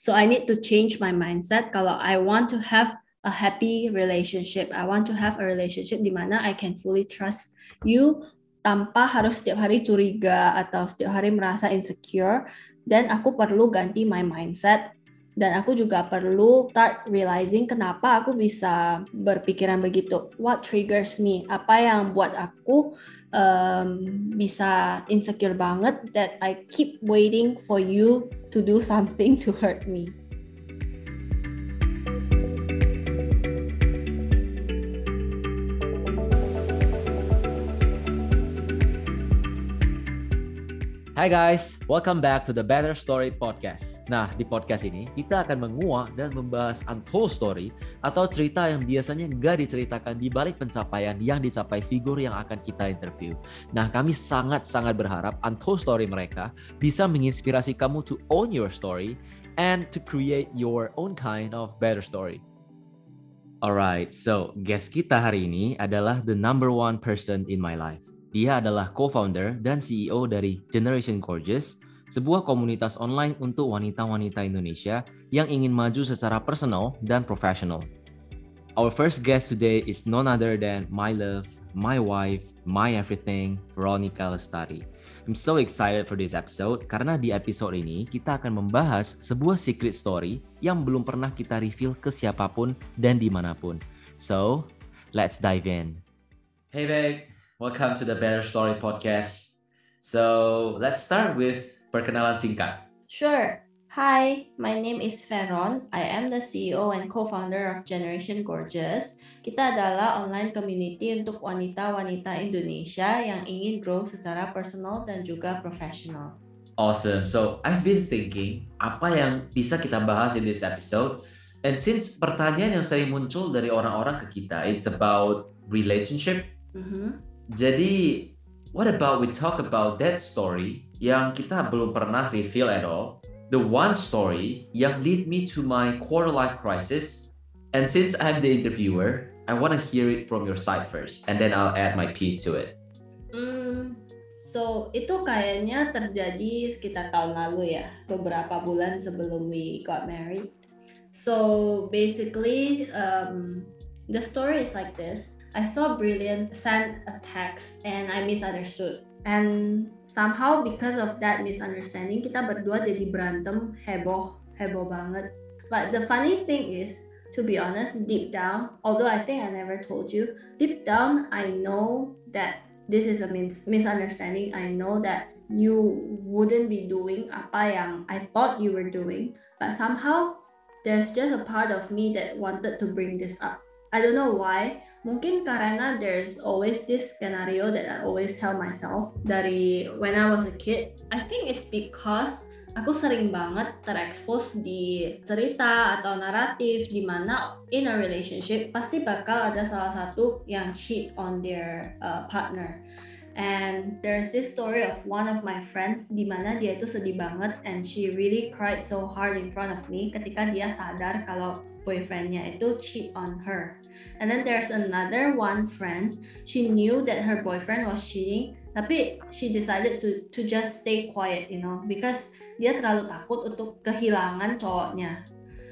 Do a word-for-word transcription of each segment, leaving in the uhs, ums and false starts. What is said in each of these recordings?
So I need to change my mindset. Kalau I want to have a happy relationship, I want to have a relationship di mana I can fully trust you tanpa harus setiap hari curiga atau setiap hari merasa insecure. Dan aku perlu ganti my mindset. Dan aku juga perlu start realizing kenapa aku bisa berpikiran begitu. What triggers me? Apa yang buat aku um, bisa insecure banget that I keep waiting for you to do something to hurt me. Hai guys, welcome back to the Better Story Podcast. Nah, di podcast ini kita akan menguak dan membahas untold story atau cerita yang biasanya nggak diceritakan di balik pencapaian yang dicapai figur yang akan kita interview. Nah, kami sangat-sangat berharap untold story mereka bisa menginspirasi kamu to own your story and to create your own kind of better story. Alright, so guest kita hari ini adalah the number one person in my life. Dia adalah co-founder dan C E O dari Generation Gorgeous, sebuah komunitas online untuk wanita-wanita Indonesia yang ingin maju secara personal dan profesional. Our first guest today is none other than my love, my wife, my everything, Veronica Lestari. I'm so excited for this episode karena di episode ini kita akan membahas sebuah secret story yang belum pernah kita reveal ke siapapun dan dimanapun. So, let's dive in. Hey babe. Welcome to the Better Story Podcast. So, let's start with perkenalan singkat. Sure. Hi, my name is Veron. I am the C E O and co-founder of Generation Gorgeous. Kita adalah online community untuk wanita-wanita Indonesia yang ingin grow secara personal dan juga profesional. Awesome. So, I've been thinking, apa yang bisa kita bahas in this episode? And since pertanyaan yang sering muncul dari orang-orang ke kita, it's about relationship. Mm-hmm. Jadi, what about we talk about that story yang kita belum pernah reveal at all, the one story yang lead me to my quarter life crisis, and since I'm the interviewer, I want to hear it from your side first, and then I'll add my piece to it. Hmm, so itu kayaknya terjadi sekitar tahun lalu ya, beberapa bulan sebelum we got married. So basically, um, the story is like this. I saw Brilliant send a text and I misunderstood. And somehow because of that misunderstanding, kita berdua jadi berantem, heboh, heboh banget. But the funny thing is, to be honest, deep down, although I think I never told you, deep down I know that this is a mis- misunderstanding. I know that you wouldn't be doing apa yang I thought you were doing. But somehow, there's just a part of me that wanted to bring this up. I don't know why. Mungkin karena there's always this scenario that I always tell myself dari when I was a kid. I think it's because aku sering banget terekspos di cerita atau naratif di mana in a relationship pasti bakal ada salah satu yang cheat on their uh, partner. And there's this story of one of my friends di mana dia itu sedih banget and she really cried so hard in front of me ketika dia sadar kalau boyfriendnya itu cheat on her. And then there's another one friend, she knew that her boyfriend was cheating, tapi she decided to, to just stay quiet, you know, because dia terlalu takut untuk kehilangan cowoknya.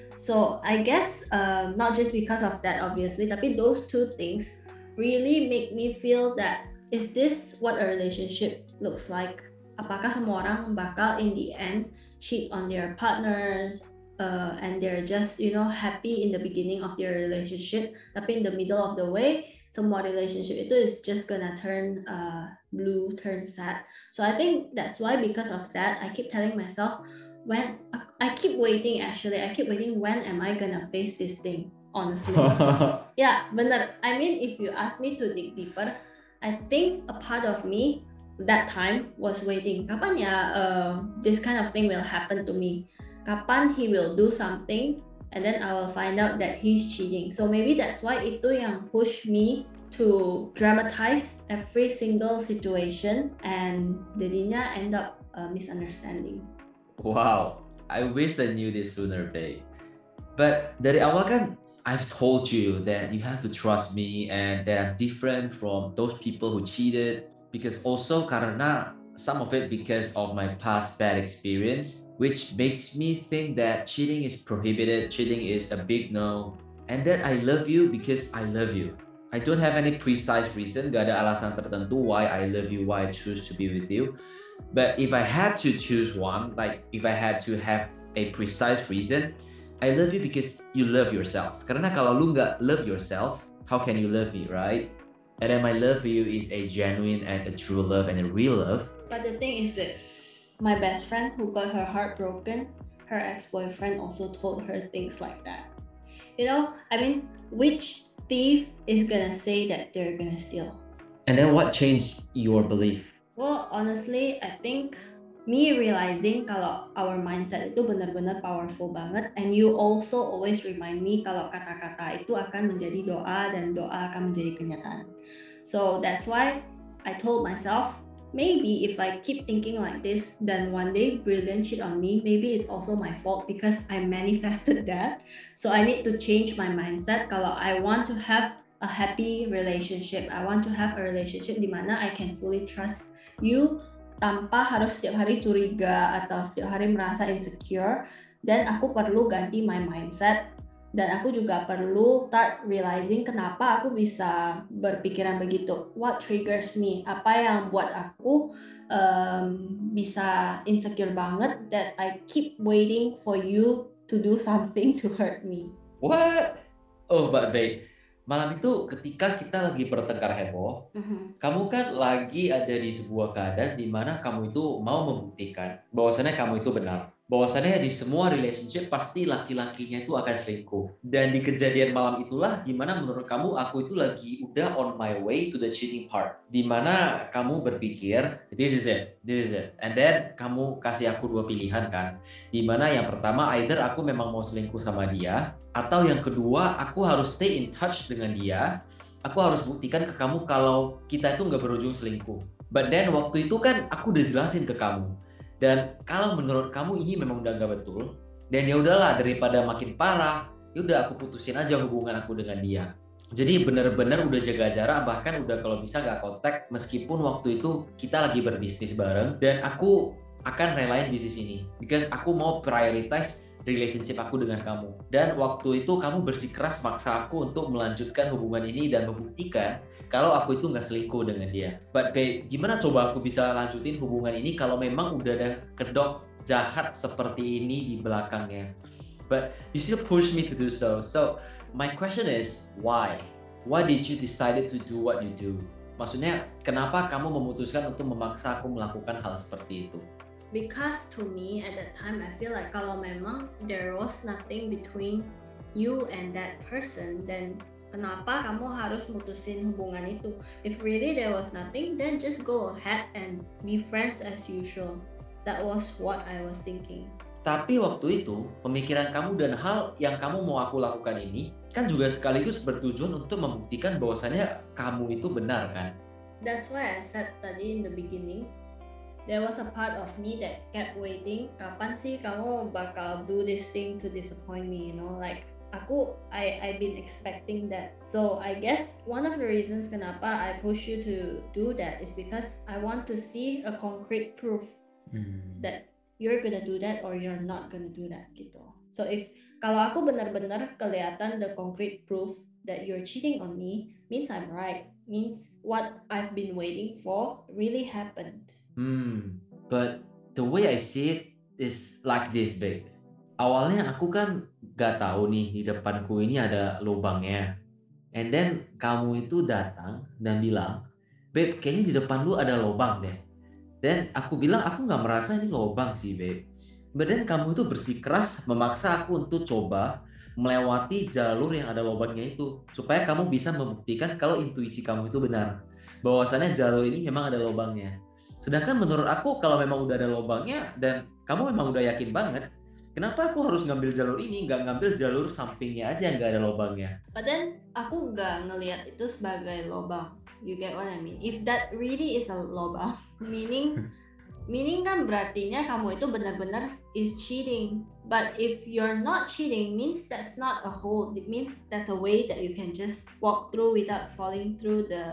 So I guess uh, not just because of that obviously, tapi those two things really make me feel that is this what a relationship looks like? Apakah semua orang bakal in the end cheat on their partners? Uh, and they're just, you know, happy in the beginning of their relationship, tapi in the middle of the way, semua relationship itu is just gonna turn uh, blue, turn sad. So I think that's why, because of that, I keep telling myself, when I keep waiting actually, I keep waiting, when am I gonna face this thing, honestly. Yeah, benar. I mean, if you ask me to dig deeper, I think a part of me that time was waiting, kapan ya uh, this kind of thing will happen to me. Kapan he will do something and then I will find out that he's cheating. So maybe that's why itu yang push me to dramatize every single situation and jadinya end up a misunderstanding. Wow, I wish I knew this sooner, babe. But dari awal kan I've told you that you have to trust me and that I'm different from those people who cheated, because also karena some of it because of my past bad experience, which makes me think that cheating is prohibited, cheating is a big no, and that I love you because I love you. I don't have any precise reason, gak ada alasan tertentu why I love you, why I choose to be with you. But if I had to choose one, like if I had to have a precise reason, I love you because you love yourself. Karena kalau lu nggak love yourself, how can you love me, right? And then my love for you is a genuine and a true love and a real love. But the thing is that my best friend who got her heart broken, her ex-boyfriend also told her things like that. You know, I mean, which thief is gonna say that they're gonna steal? And then what changed your belief? Well, honestly, I think me realizing kalau our mindset itu benar-benar powerful banget, and you also always remind me kalau kata-kata itu akan menjadi doa dan doa akan menjadi kenyataan. So that's why I told myself, maybe if I keep thinking like this, then one day Brilliant cheat on me, maybe it's also my fault because I manifested that. So I need to change my mindset kalau I want to have a happy relationship. I want to have a relationship di mana I can fully trust you tanpa harus setiap hari curiga atau setiap hari merasa insecure. Dan aku perlu ganti my mindset, dan aku juga perlu start realizing kenapa aku bisa berpikiran begitu. What triggers me? Apa yang buat aku um, bisa insecure banget that I keep waiting for you to do something to hurt me. What? Oh, but babe, malam itu ketika kita lagi bertengkar heboh, Mm-hmm. kamu kan lagi ada di sebuah keadaan di mana kamu itu mau membuktikan bahwasannya kamu itu benar. Bahwasannya di semua relationship pasti laki-lakinya itu akan selingkuh. Dan di kejadian malam itulah dimana menurut kamu aku itu lagi udah on my way to the cheating part. Dimana kamu berpikir, this is it, this is it. And then kamu kasih aku dua pilihan kan. Dimana yang pertama either aku memang mau selingkuh sama dia, atau yang kedua aku harus stay in touch dengan dia. Aku harus buktikan ke kamu kalau kita itu nggak berujung selingkuh. But then waktu itu kan aku udah jelasin ke kamu. Dan kalau menurut kamu ini memang udah nggak betul, dan ya udahlah daripada makin parah, ya udah aku putusin aja hubungan aku dengan dia. Jadi benar-benar udah jaga jarak, bahkan udah kalau bisa nggak kontak meskipun waktu itu kita lagi berbisnis bareng, dan aku akan relain bisnis ini because aku mau prioritize relationship aku dengan kamu. Dan waktu itu kamu bersikeras maksa aku untuk melanjutkan hubungan ini dan membuktikan kalau aku itu nggak selingkuh dengan dia. But babe, gimana coba aku bisa lanjutin hubungan ini kalau memang udah ada kedok jahat seperti ini di belakangnya? But you still push me to do so. So my question is, why? Why did you decided to do what you do? Maksudnya, kenapa kamu memutuskan untuk memaksa aku melakukan hal seperti itu? Because to me at that time I feel like kalau memang there was nothing between you and that person, then kenapa kamu harus mutusin hubungan itu? If really there was nothing, then just go ahead and be friends as usual. That was what I was thinking. Tapi waktu itu pemikiran kamu dan hal yang kamu mau aku lakukan ini kan juga sekaligus bertujuan untuk membuktikan bahwasannya kamu itu benar kan? That's why I said tadi in the beginning, there was a part of me that kept waiting, kapan sih kamu bakal do this thing to disappoint me, you know, like aku I I've been expecting that. So I guess one of the reasons kenapa I push you to do that is because I want to see a concrete proof hmm. that you're gonna do that or you're not gonna do that gitu. So if kalau aku benar-benar kelihatan the concrete proof that you're cheating on me, means I'm right, means what I've been waiting for really happened. Hmm, but the way I see it is like this, babe. Awalnya aku kan gak tahu nih di depanku ini ada lubangnya. And then kamu itu datang dan bilang, babe, kayaknya di depan lu ada lubang deh. Dan aku bilang aku gak merasa ini lubang sih, babe. But then kamu itu bersikeras memaksa aku untuk coba melewati jalur yang ada lubangnya itu, supaya kamu bisa membuktikan kalau intuisi kamu itu benar, bahwasannya jalur ini memang ada lubangnya. Sedangkan menurut aku kalau memang udah ada lubangnya dan kamu memang udah yakin banget, kenapa aku harus ngambil jalur ini, nggak ngambil jalur sampingnya aja yang nggak ada lubangnya? But then aku nggak ngelihat itu sebagai lubang. You get what I mean? If that really is a lubang, meaning meaning kan berartinya kamu itu benar-benar is cheating. But if you're not cheating, means that's not a hole. It means that's a way that you can just walk through without falling through the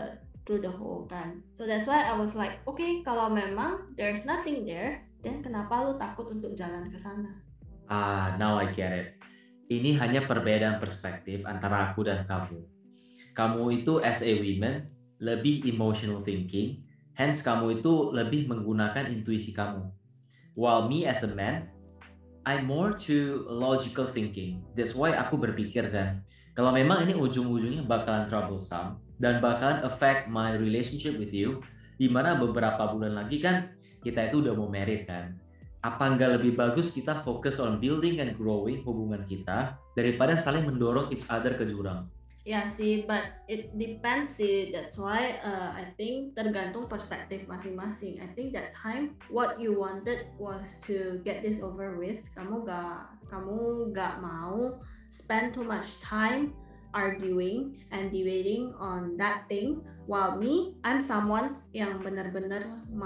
through the whole kan. So that's why I was like, okay, kalau memang there's nothing there, then kenapa lu takut untuk jalan ke sana? Ah, now I get it. Ini hanya perbedaan perspektif antara aku dan kamu. Kamu itu as a woman lebih emotional thinking, hence kamu itu lebih menggunakan intuisi kamu. While me as a man, I'm more to logical thinking. That's why aku berpikir kan, kalau memang ini ujung-ujungnya bakalan troublesome dan bakalan affect my relationship with you, di mana beberapa bulan lagi kan kita itu udah mau married kan. Apa nggak lebih bagus kita fokus on building and growing hubungan kita daripada saling mendorong each other ke jurang? Ya sih, but it depends sih. That's why uh, I think tergantung perspektif masing-masing. I think that time what you wanted was to get this over with. Kamu gak, kamu gak mau spend too much time arguing and debating on that thing. While me, I'm someone yang benar-benar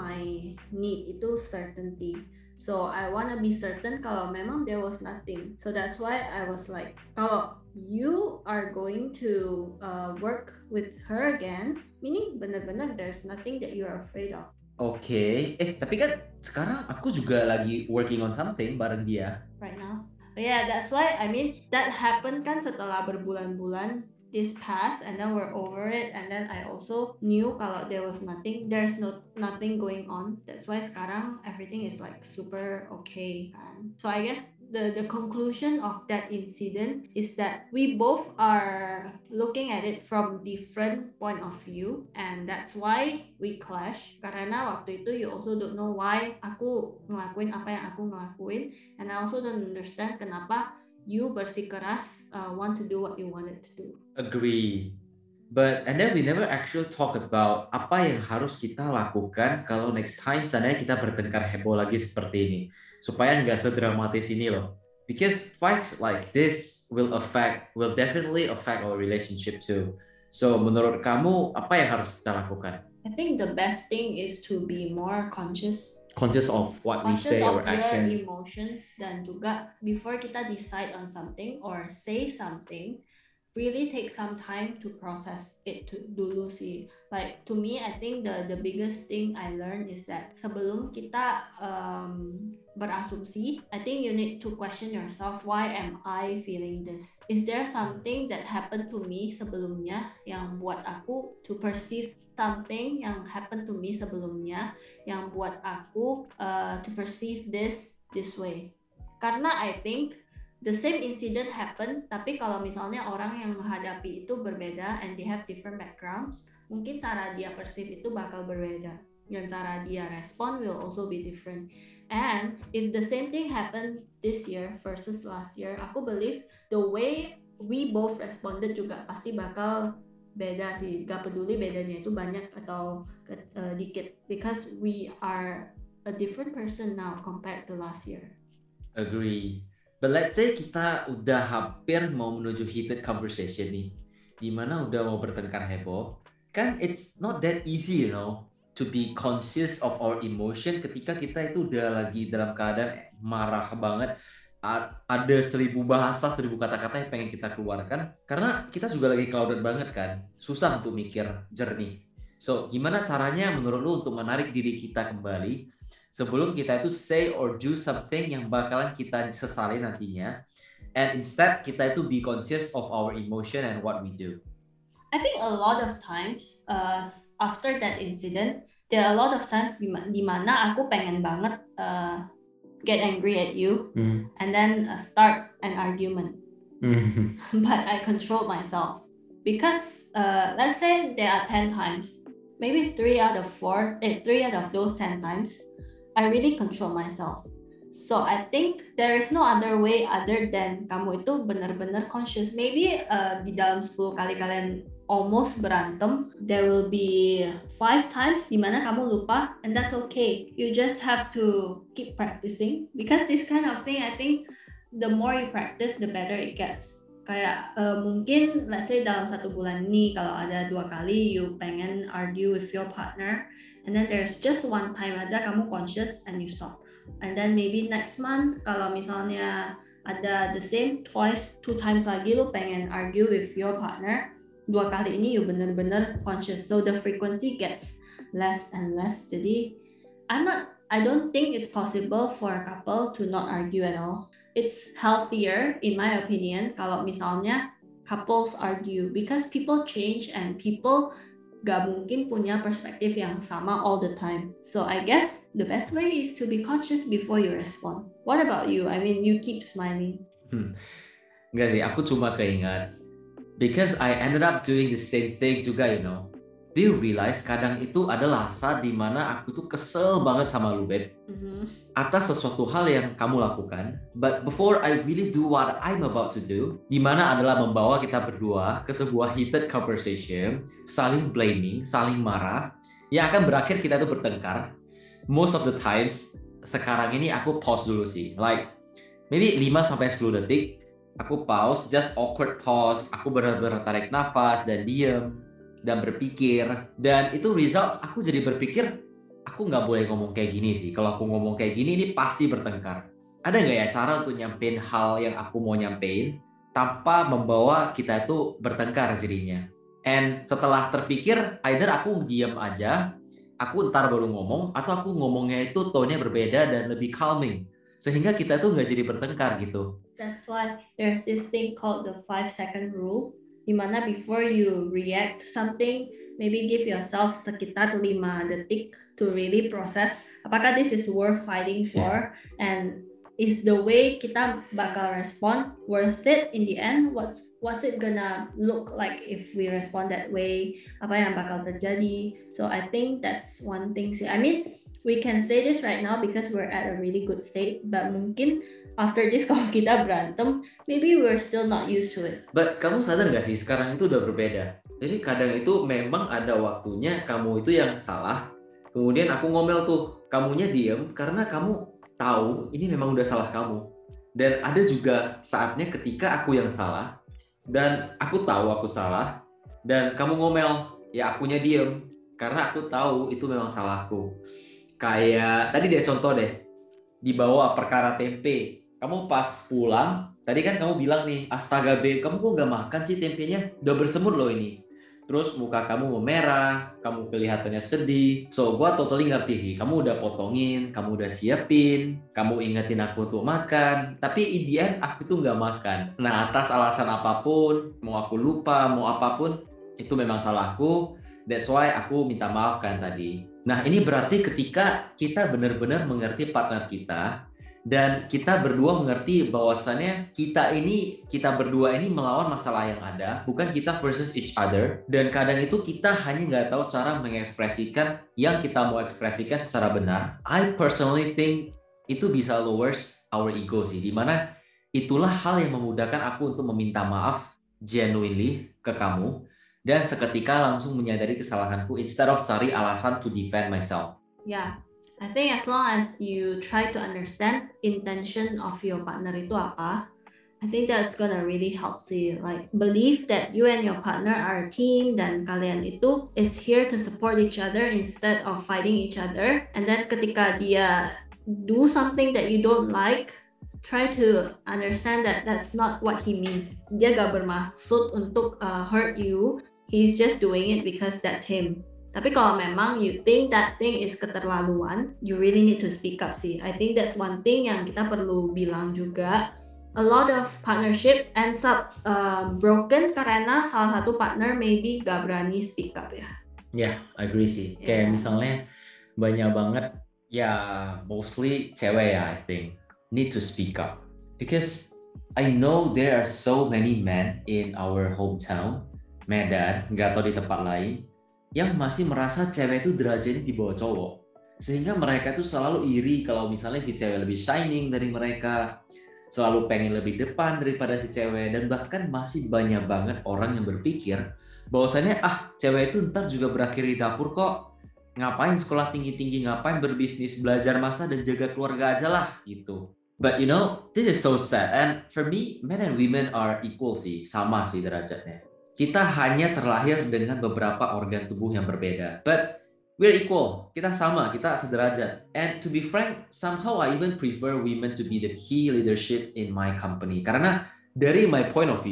my need itu certainty. So I wanna be certain kalau memang there was nothing. So that's why I was like, kalau you are going to uh, work with her again, meaning benar-benar there's nothing that you are afraid of. Oke, okay. eh tapi kan sekarang aku juga lagi working on something bareng dia. Right now. But yeah, that's why I mean that happened kan setelah berbulan-bulan this past, and then we're over it, and then I also knew kalau there was nothing, there's no nothing going on. That's why sekarang everything is like super okay. And so I guess the the conclusion of that incident is that we both are looking at it from different point of view, and that's why we clash. Karena waktu itu you also don't know why aku ngelakuin apa yang aku ngelakuin, and I also don't understand kenapa you bersikeras uh, want to do what you wanted to do. Agree. But and then we never actually talk about apa yang harus kita lakukan kalau next time seandainya kita bertengkar heboh lagi seperti ini, supaya nggak sedramatis ini loh. Because fights like this will affect, will definitely affect our relationship too. So menurut kamu apa yang harus kita lakukan? I think the best thing is to be more conscious. Conscious of what conscious we say of or action. your emotions, dan juga before kita decide on something or say something, really take some time to process it to dulu sih. Like to me, I think the the biggest thing I learned is that sebelum kita um, berasumsi, I think you need to question yourself, why am I feeling this? Is there something that happened to me sebelumnya yang buat aku to perceive something yang happened to me sebelumnya yang buat aku uh, to perceive this this way? Karena I think the same incident happen, tapi kalau misalnya orang yang menghadapi itu berbeda and they have different backgrounds, mungkin cara dia perceive itu bakal berbeda, dan cara dia respond will also be different. And if the same thing happen this year versus last year, aku believe the way we both responded juga pasti bakal beda sih. Gak peduli bedanya itu banyak atau uh, dikit, because we are a different person now compared to last year. Agree. But let's say kita udah hampir mau menuju heated conversation nih, dimana udah mau bertengkar heboh, kan it's not that easy, you know, to be conscious of our emotion ketika kita itu udah lagi dalam keadaan marah banget, ada seribu bahasa, seribu kata-kata yang pengen kita keluarkan, karena kita juga lagi clouded banget kan, susah untuk mikir jernih. So, gimana caranya menurut lu untuk menarik diri kita kembali sebelum kita itu say or do something yang bakalan kita sesali nantinya, and instead kita itu be conscious of our emotion and what we do? I think a lot of times uh, after that incident, there are a lot of times di, di mana aku pengen banget uh, get angry at you mm. and then uh, start an argument. Mm. But I control myself because uh, let's say there are ten times, maybe three out of four, eh, three out of those ten times, I really control myself. So I think there is no other way other than kamu itu benar-benar conscious. Maybe uh, di dalam sepuluh kali kalian almost berantem, there will be five times di mana kamu lupa, and that's okay. You just have to keep practicing, because this kind of thing, I think the more you practice, the better it gets. Kayak uh, mungkin let's say dalam satu bulan ini kalau ada dua kali you pengen argue with your partner, and then there's just one time aja kamu conscious and you stop. And then maybe next month kalau misalnya ada the same twice, two times lagi lu pengen argue with your partner, dua kali ini you bener-bener conscious, so the frequency gets less and less. Jadi I'm not I don't think it's possible for a couple to not argue at all. It's healthier in my opinion kalau misalnya couples argue, because people change and people gak mungkin punya perspektif yang sama all the time. So I guess the best way is to be conscious before you respond. What about you? I mean, you keep smiling. Hmm. Enggak sih, aku cuma keingat because I ended up doing the same thing juga, you know. Do you realize kadang itu adalah saat dimana aku tuh kesel banget sama lu, Beb, mm-hmm. atas sesuatu hal yang kamu lakukan, but before I really do what I'm about to do, dimana adalah membawa kita berdua ke sebuah heated conversation, saling blaming, saling marah, yang akan berakhir kita tuh bertengkar. Most of the times, sekarang ini aku pause dulu sih, like maybe lima sampai sepuluh detik, aku pause, just awkward pause, aku benar-benar tarik nafas dan diem, dan berpikir, dan itu results aku jadi berpikir aku nggak boleh ngomong kayak gini sih. Kalau aku ngomong kayak gini ini pasti bertengkar. Ada nggak ya cara untuk nyampein hal yang aku mau nyampein tanpa membawa kita itu bertengkar jadinya? And setelah terpikir, either aku diam aja, aku ntar baru ngomong, atau aku ngomongnya itu tone-nya berbeda dan lebih calming, sehingga kita tuh nggak jadi bertengkar gitu. That's why there's this thing called the five second rule. Dimana before you react to something, maybe give yourself sekitar lima detik to really process apakah this is worth fighting for, yeah. And is the way kita bakal respond worth it in the end? What's what's it gonna look like if we respond that way? Apa yang bakal terjadi? So I think that's one thing sih. I mean, we can say this right now because we're at a really good state, but mungkin after this kalau kita berantem, maybe we're still not used to it. But kamu sadar gak sih sekarang itu udah berbeda. Jadi kadang itu memang ada waktunya kamu itu yang salah. Kemudian aku ngomel tuh, kamunya diem karena kamu tahu ini memang udah salah kamu. Dan ada juga saatnya ketika aku yang salah dan aku tahu aku salah dan kamu ngomel, ya akunya diem karena aku tahu itu memang salahku. Kayak tadi deh contoh deh, dibawa perkara tempe. Kamu pas pulang, tadi kan kamu bilang nih, astaga Beb, kamu kok gak makan sih tempenya? Udah bersemut loh ini. Terus muka kamu memerah, kamu kelihatannya sedih. So, gue totally ngerti sih, kamu udah potongin, kamu udah siapin, kamu ingetin aku untuk makan. Tapi in the end, aku tuh gak makan. Nah, atas alasan apapun, mau aku lupa, mau apapun, itu memang salahku. That's why aku minta maaf kan tadi. Nah, ini berarti ketika kita benar-benar mengerti partner kita, dan kita berdua mengerti bahwasannya kita ini, kita berdua ini melawan masalah yang ada, bukan kita versus each other. Dan kadang itu kita hanya nggak tahu cara mengekspresikan yang kita mau ekspresikan secara benar. I personally think itu bisa lowers our ego sih, dimana itulah hal yang memudahkan aku untuk meminta maaf genuinely ke kamu, dan seketika langsung menyadari kesalahanku instead of cari alasan to defend myself. Yeah. I think as long as you try to understand intention of your partner itu apa, I think that's gonna really help you. Like, believe that you and your partner are a team dan kalian itu is here to support each other instead of fighting each other. And then ketika dia do something that you don't like, try to understand that that's not what he means. Dia gak bermaksud untuk uh, hurt you. He's just doing it because that's him. Tapi kalau memang you think that thing is keterlaluan, you really need to speak up sih. I think that's one thing yang kita perlu bilang juga. A lot of partnership ends up uh, broken karena salah satu partner maybe gak berani speak up ya. Ya, yeah, agree sih. Yeah. Kayak misalnya banyak banget, ya mostly cewek ya, I think, need to speak up. Because I know there are so many men in our hometown, Medan, gak tau di tempat lain, yang masih merasa cewek itu derajatnya di bawah cowok. Sehingga mereka itu selalu iri kalau misalnya si cewek lebih shining dari mereka, selalu pengen lebih depan daripada si cewek, dan bahkan masih banyak banget orang yang berpikir bahwasannya ah cewek itu ntar juga berakhir di dapur kok, ngapain sekolah tinggi-tinggi, ngapain berbisnis, belajar masak dan jaga keluarga aja lah gitu. But you know, this is so sad, and for me, men and women are equal sih, sama sih derajatnya. Kita hanya terlahir dengan beberapa organ tubuh yang berbeda. But we're equal. Kita sama, kita sederajat. And to be frank, somehow I even prefer women to be the key leadership in my company. Karena dari my point of view,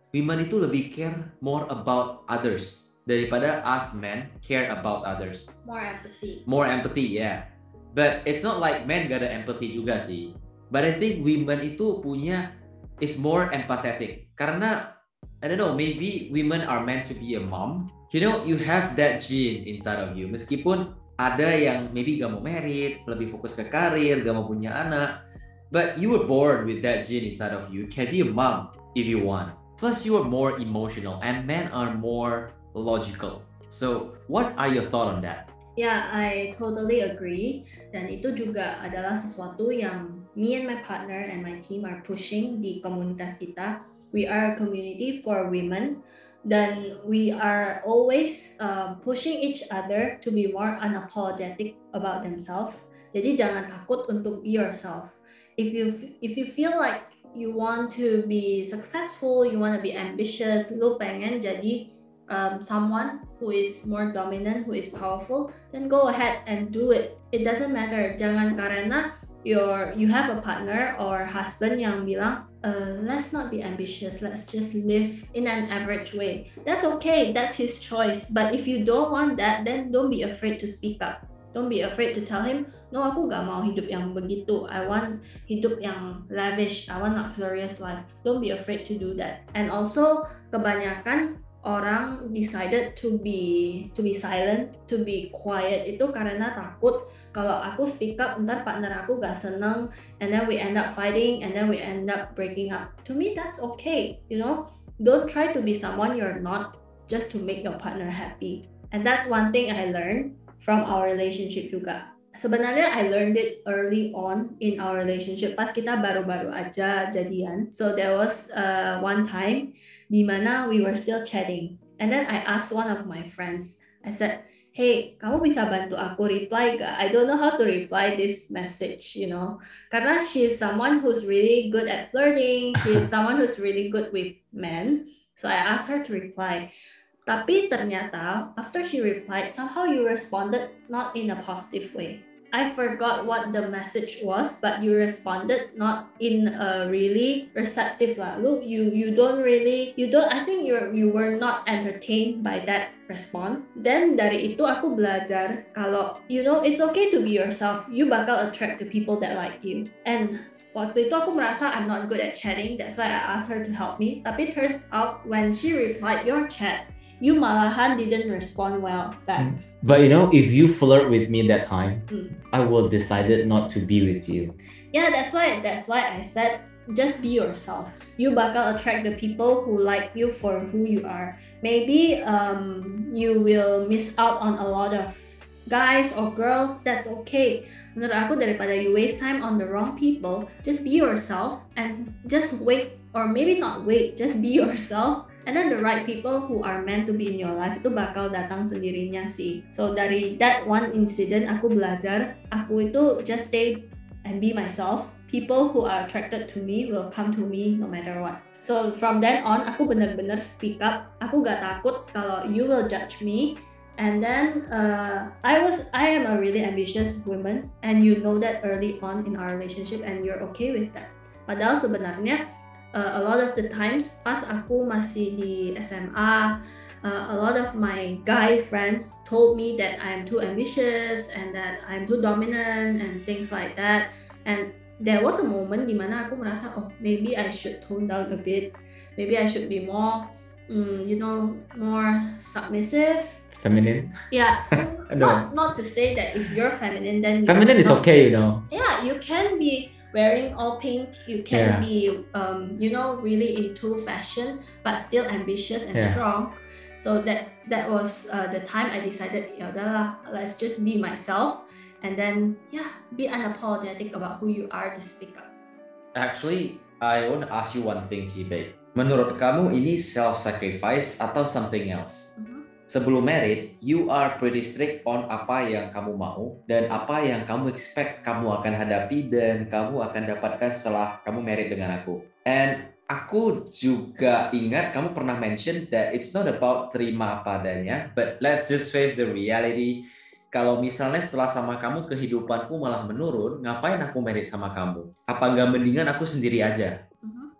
women itu lebih care more about others daripada us men care about others. More empathy. More empathy, yeah. But it's not like men gak ada empathy juga sih. But I think women itu punya is more empathetic. Karena I don't know, maybe women are meant to be a mom. You know, you have that gene inside of you. Meskipun ada yang maybe gak mau married, lebih fokus ke karir, gak mau punya anak. But you were born with that gene inside of you. You can be a mom if you want. Plus you are more emotional and men are more logical. So what are your thoughts on that? Yeah, I totally agree. Dan itu juga adalah sesuatu yang me and my partner and my team are pushing di komunitas kita. We are a community for women. Dan we are always uh, pushing each other to be more unapologetic about themselves. Jadi jangan takut untuk be yourself. If you if you feel like you want to be successful, you want to be ambitious, lu pengen jadi Um, someone who is more dominant, who is powerful, then go ahead and do it. It doesn't matter. Jangan karena your you have a partner or husband yang bilang, uh, let's not be ambitious. Let's just live in an average way. That's okay. That's his choice. But if you don't want that, then don't be afraid to speak up. Don't be afraid to tell him, no, aku gak mau hidup yang begitu. I want hidup yang lavish. I want luxurious life. Don't be afraid to do that. And also, kebanyakan orang decided to be to be silent, to be quiet itu karena takut kalau aku speak up ntar partner aku gak seneng, and then we end up fighting, and then we end up breaking up. To me that's okay, you know. Don't try to be someone you're not just to make your partner happy. And that's one thing I learned from our relationship juga. Sebenarnya I learned it early on in our relationship pas kita baru-baru aja jadian. So there was uh, one time di mana we were still chatting, and then I asked one of my friends, I said, hey, kamu bisa bantu aku reply gak? I don't know how to reply this message, you know, karena she's someone who's really good at flirting, she's someone who's really good with men, so I asked her to reply. Tapi ternyata after she replied, somehow you responded not in a positive way. I forgot what the message was, but you responded not in a really receptive lah. Look, you you don't really you don't. I think you you were not entertained by that response. Then dari itu aku belajar kalau you know it's okay to be yourself. You bakal attract the people that like you. And waktu itu aku merasa I'm not good at chatting. That's why I asked her to help me. Tapi turns out when she replied your chat, you malahan didn't respond well back. Mm. But you know, if you flirt with me that time, mm. I will decided not to be with you. Yeah, that's why that's why I said just be yourself. You bakal attract the people who like you for who you are. Maybe um, you will miss out on a lot of guys or girls. That's okay. Menurut aku daripada you waste time on the wrong people, just be yourself and just wait, or maybe not wait, just be yourself. And then the right people who are meant to be in your life itu bakal datang sendirinya sih. So dari that one incident aku belajar, aku itu just stay and be myself. People who are attracted to me will come to me no matter what. So from then on aku benar-benar speak up. Aku gak takut kalau you will judge me. And then uh, I was I am a really ambitious woman, and you know that early on in our relationship, and you're okay with that. Padahal sebenarnya Uh, a lot of the times pas aku masih di S M A, uh, a lot of my guy friends told me that I'm too ambitious and that I'm too dominant and things like that. And there was a moment dimana aku merasa, oh maybe I should tone down a bit. Maybe I should be more, um, you know, more submissive. Feminine? Yeah, not not to say that if you're feminine then feminine is not, okay, you know. Yeah, you can be wearing all pink, you can yeah. be um, you know, really into fashion but still ambitious and yeah. strong. So that that was uh, the time I decided, ya udahlah, let's just be myself, and then yeah, be unapologetic about who you are, to speak up. Actually, I want to ask you one thing sih, babe. Menurut kamu ini self-sacrifice atau something else? Mm-hmm. Sebelum married, you are pretty strict on apa yang kamu mau dan apa yang kamu expect kamu akan hadapi dan kamu akan dapatkan setelah kamu married dengan aku. And aku juga ingat kamu pernah mention that it's not about terima apa adanya, but let's just face the reality. Kalau misalnya setelah sama kamu kehidupanku malah menurun, ngapain aku married sama kamu? Apa nggak mendingan aku sendiri aja? Mm-hmm.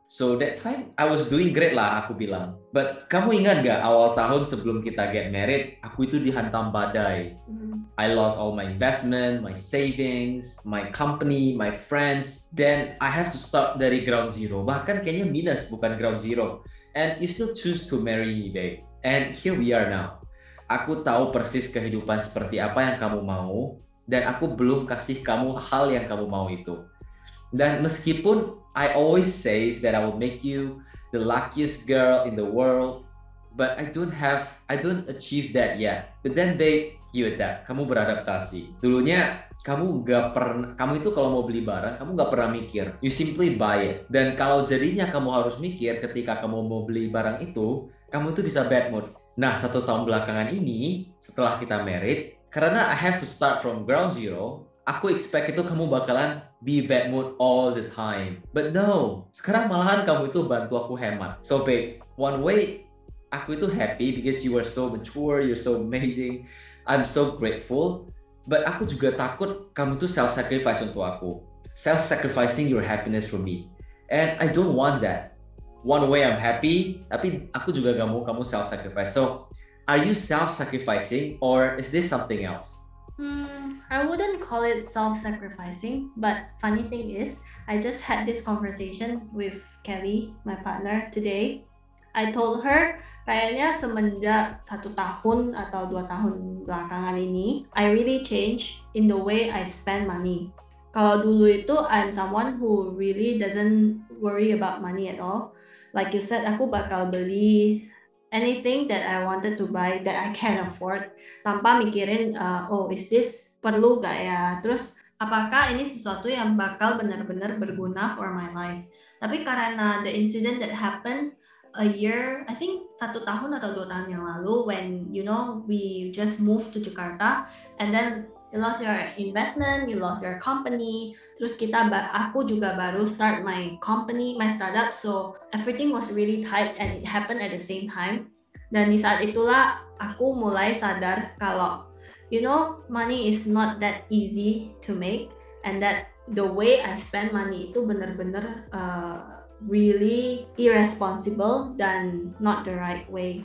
So that time I was doing great lah, aku bilang. But kamu ingat gak awal tahun sebelum kita get married, aku itu dihantam badai. Mm. I lost all my investment, my savings, my company, my friends. Then I have to start dari ground zero. Bahkan kayaknya minus, bukan ground zero. And you still choose to marry me, babe. And here we are now. Aku tahu persis kehidupan seperti apa yang kamu mau. Dan aku belum kasih kamu hal yang kamu mau itu. Dan meskipun I always say that I will make you the luckiest girl in the world, but I don't have, I don't achieve that yet. But then babe, you adapt, kamu beradaptasi. Dulunya kamu gak pernah, kamu itu kalau mau beli barang, kamu gak pernah mikir. You simply buy it. Dan kalau jadinya kamu harus mikir ketika kamu mau beli barang itu, kamu itu bisa bad mood. Nah, satu tahun belakangan ini, setelah kita married, karena I have to start from ground zero, aku expect itu kamu bakalan be bad mood all the time. But no, sekarang malahan kamu itu bantu aku hemat. So babe, one way aku itu happy because you are so mature, you're so amazing. I'm so grateful. But aku juga takut kamu itu self-sacrifice untuk aku. Self-sacrificing your happiness for me. And I don't want that. One way I'm happy, tapi aku juga gak mau kamu self-sacrifice. So, are you self-sacrificing or is this something else? Hmm, I wouldn't call it self-sacrificing, but funny thing is, I just had this conversation with Kelly, my partner, today. I told her, kayaknya semenjak satu tahun atau dua tahun belakangan ini, I really change in the way I spend money. Kalau dulu itu, I'm someone who really doesn't worry about money at all. Like you said, aku bakal beli anything that I wanted to buy that I can afford tanpa mikirin uh, oh is this perlu gak ya, terus apakah ini sesuatu yang bakal benar-benar berguna for my life. Tapi karena the incident that happened a year, I think satu tahun atau dua tahun yang lalu, when you know we just moved to Jakarta and then you lost your investment, you lost your company, terus kita, aku juga baru start my company, my startup, so everything was really tight and it happened at the same time. Dan di saat itulah aku mulai sadar kalau, you know, money is not that easy to make, and that the way I spend money itu benar-benar uh, really irresponsible dan not the right way.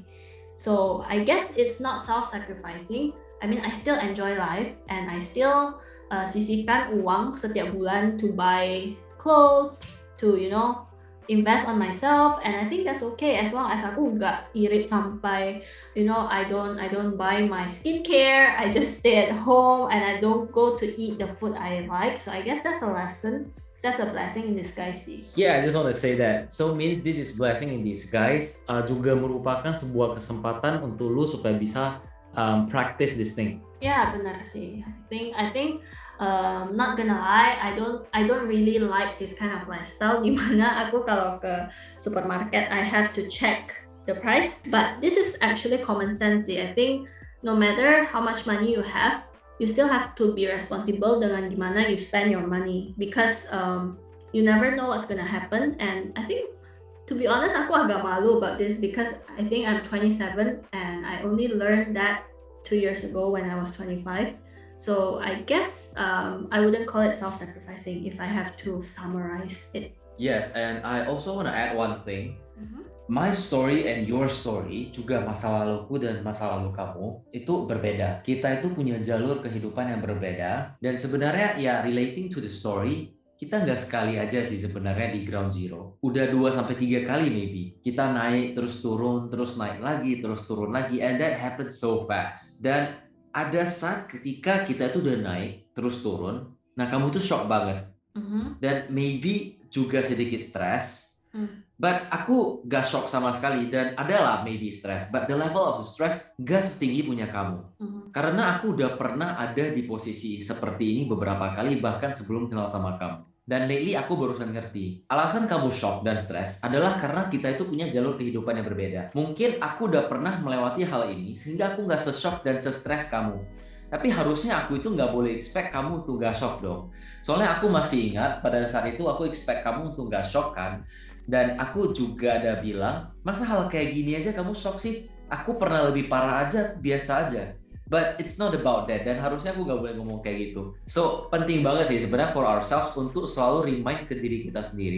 So I guess it's not self-sacrificing. I mean, I still enjoy life and I still uh, sisihkan uang setiap bulan to buy clothes, to, you know, invest on myself, and I think that's okay as long as aku gak irit sampai, you know, I don't I don't buy my skincare, I just stay at home and I don't go to eat the food I like. So I guess that's a lesson. That's a blessing in disguise sih. Yeah, I just want to say that. So means this is blessing in disguise. Uh, juga merupakan sebuah kesempatan untuk lu supaya bisa um, practice this thing. Yeah, benar sih. I think I think um, not gonna lie, I don't I don't really like this kind of lifestyle. Dimana aku kalau ke supermarket I have to check the price. But this is actually common sense sih. I think no matter how much money you have, you still have to be responsible dengan gimana you spend your money, because um, you never know what's gonna happen. And I think, to be honest, aku agak malu about this because I think I'm twenty-seven and I only learned that two years ago when I was twenty-five. So I guess um, I wouldn't call it self-sacrificing if I have to summarize it. Yes, and I also want to add one thing. Mm-hmm. My story and your story, juga masa laluku dan masa lalu kamu, itu berbeda. Kita itu punya jalur kehidupan yang berbeda. Dan sebenarnya ya relating to the story, kita nggak sekali aja sih sebenarnya di ground zero. Udah dua sampai tiga kali maybe. Kita naik, terus turun, terus naik lagi, terus turun lagi. And that happened so fast. Dan ada saat ketika kita itu udah naik, terus turun. Nah, kamu tuh shock banget. Mm-hmm. Dan maybe juga sedikit stres. Mm. But aku gak shock sama sekali, dan adalah maybe stress, but the level of the stress gak setinggi punya kamu. Mm-hmm. Karena aku udah pernah ada di posisi seperti ini beberapa kali, bahkan sebelum kenal sama kamu. Dan lately aku barusan ngerti, alasan kamu shock dan stres adalah karena kita itu punya jalur kehidupan yang berbeda. Mungkin aku udah pernah melewati hal ini, sehingga aku gak se-shock dan se-stres kamu. Tapi harusnya aku itu nggak boleh expect kamu untuk nggak shock dong. Soalnya aku masih ingat pada saat itu aku expect kamu untuk nggak shock kan. Dan aku juga ada bilang, masa hal kayak gini aja kamu shock sih? Aku pernah lebih parah aja, biasa aja. But it's not about that, dan harusnya aku nggak boleh ngomong kayak gitu. So, penting banget sih sebenarnya for ourselves untuk selalu remind ke diri kita sendiri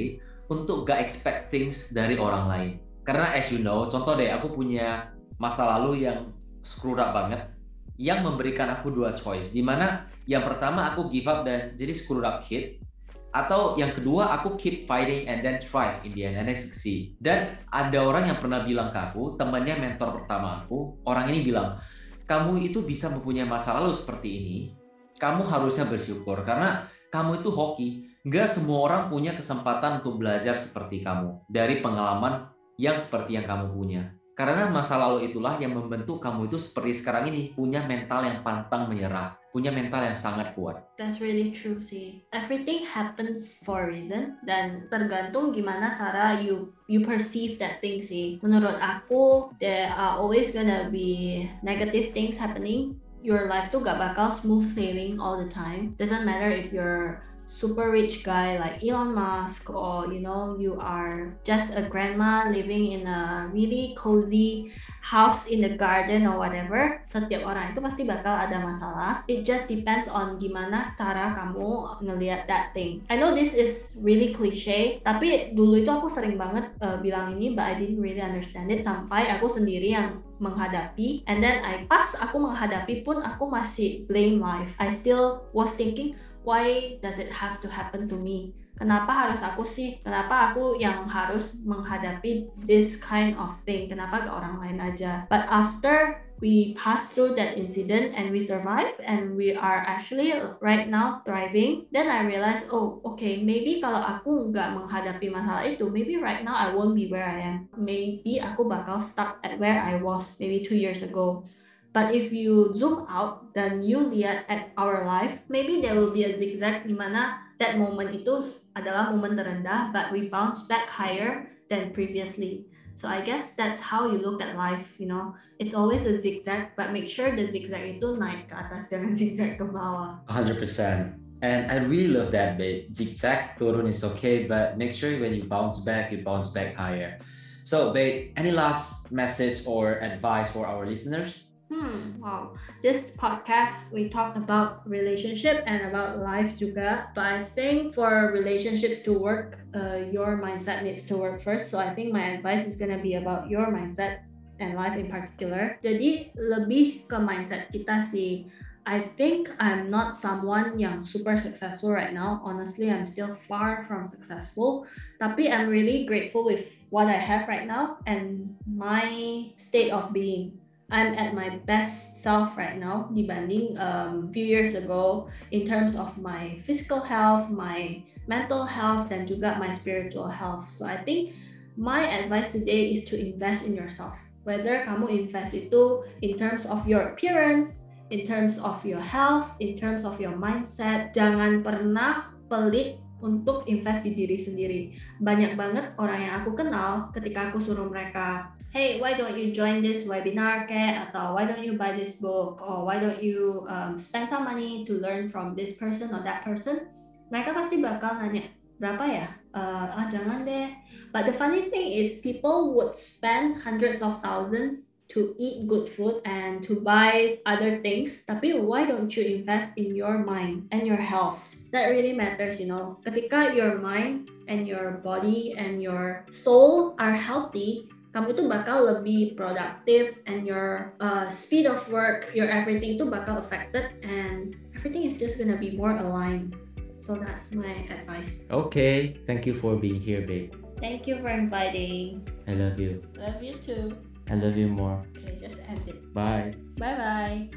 untuk gak expect things dari orang lain. Karena as you know, contoh deh, aku punya masa lalu yang screwed up banget, yang memberikan aku dua choice, dimana yang pertama aku give up dan jadi screwed up kid, atau yang kedua aku keep fighting and then thrive in the end and then succeed. Dan ada orang yang pernah bilang ke aku, temannya mentor pertama aku, orang ini bilang, kamu itu bisa mempunyai masa lalu seperti ini, kamu harusnya bersyukur karena kamu itu hoki. Nggak semua orang punya kesempatan untuk belajar seperti kamu dari pengalaman yang seperti yang kamu punya. Karena masa lalu itulah yang membentuk kamu itu seperti sekarang ini, punya mental yang pantang menyerah, punya mental yang sangat kuat. That's really true sih. Everything happens for a reason, dan tergantung gimana cara you you perceive that thing sih. Menurut aku, there are always gonna be negative things happening. Your life tuh gak bakal smooth sailing all the time. Doesn't matter if you're super rich guy like Elon Musk, or you know, you are just a grandma living in a really cozy house in the garden or whatever. Setiap orang itu pasti bakal ada masalah. It just depends on gimana cara kamu ngelihat that thing. I know this is really cliche, tapi dulu itu aku sering banget uh, bilang ini, but I didn't really understand it sampai aku sendiri yang menghadapi, and then I pas aku menghadapi pun aku masih blame life. I still was thinking, why does it have to happen to me? Kenapa harus aku sih? Kenapa aku yang harus menghadapi this kind of thing? Kenapa ke orang lain aja? But after we pass through that incident and we survive and we are actually right now thriving, then I realized, oh okay, maybe kalau aku nggak menghadapi masalah itu, maybe right now I won't be where I am. Maybe aku bakal stuck at where I was maybe two years ago. But if you zoom out dan you lihat at our life, maybe there will be a zigzag di mana that moment itu adalah momen terendah, but we bounce back higher than previously. So I guess that's how you look at life, you know. It's always a zigzag, but make sure the zigzag itu naik ke atas, jangan zigzag ke bawah. one hundred percent. And I really love that, babe. Zigzag, turun is okay, but make sure when you bounce back, you bounce back higher. So, babe, any last message or advice for our listeners? Hmm, wow. This podcast, we talked about relationship and about life juga. But I think for relationships to work, uh, your mindset needs to work first. So I think my advice is gonna be about your mindset and life in particular. Jadi lebih ke mindset kita sih. I think I'm not someone yang super successful right now. Honestly, I'm still far from successful. Tapi I'm really grateful with what I have right now and my state of being. I'm at my best self right now dibanding um, few years ago in terms of my physical health, my mental health, dan juga my spiritual health. So I think my advice today is to invest in yourself. Whether kamu invest itu in terms of your appearance, in terms of your health, in terms of your mindset, jangan pernah pelit untuk invest di diri sendiri. Banyak banget orang yang aku kenal ketika aku suruh mereka, hey, why don't you join this webinar kayak, atau why don't you buy this book, or why don't you um, spend some money to learn from this person or that person, mereka pasti bakal nanya, berapa ya? Uh, ah jangan deh. But the funny thing is, people would spend hundreds of thousands to eat good food and to buy other things, tapi why don't you invest in your mind and your health? That really matters, you know. Ketika your mind and your body and your soul are healthy, kamu tuh bakal lebih productive, and your uh, speed of work, your everything tuh bakal affected, and everything is just gonna be more aligned. So that's my advice. Okay, thank you for being here, babe. Thank you for inviting. I love you. Love you too. I love you more. Okay, just end it. Bye. Bye-bye.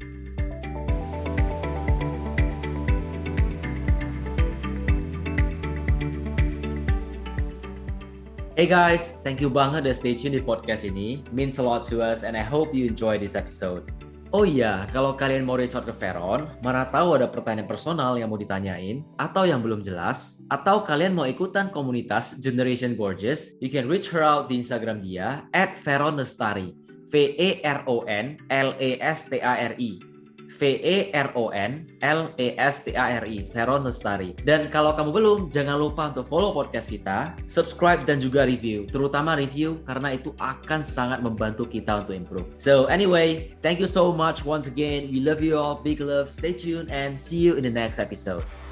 Hey guys, thank you banget udah stay tune di podcast ini. Means a lot to us and I hope you enjoy this episode. Oh iya, kalau kalian mau reach out ke Veron, mana tahu ada pertanyaan personal yang mau ditanyain, atau yang belum jelas, atau kalian mau ikutan komunitas Generation Gorgeous, you can reach her out di Instagram dia at Veron Lestari, V E R O N L E S T A R I. V E R O N L E S T A R I, Veron Lestari. Dan kalau kamu belum, jangan lupa untuk follow podcast kita, subscribe dan juga review, terutama review karena itu akan sangat membantu kita untuk improve. So anyway, thank you so much once again. We love you all, big love, stay tuned and see you in the next episode.